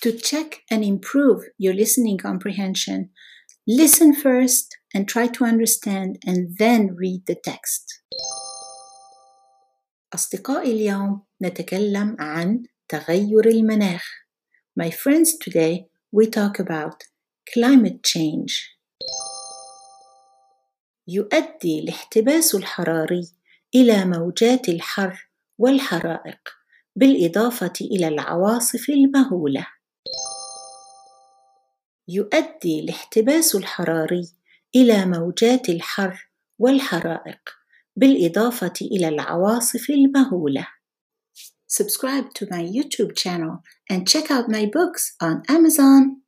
To check and improve your listening comprehension, listen first and try to understand and then read the text. أصدقائي اليوم نتكلم عن تغير المناخ. My friends, today we talk about climate change. يؤدي الاحتباس الحراري إلى موجات الحر والحرائق بالإضافة إلى العواصف المهولة. يؤدي الاحتباس الحراري إلى موجات الحر والحرائق بالإضافة إلى العواصف المهولة. Subscribe to my YouTube channel and check out my books on Amazon.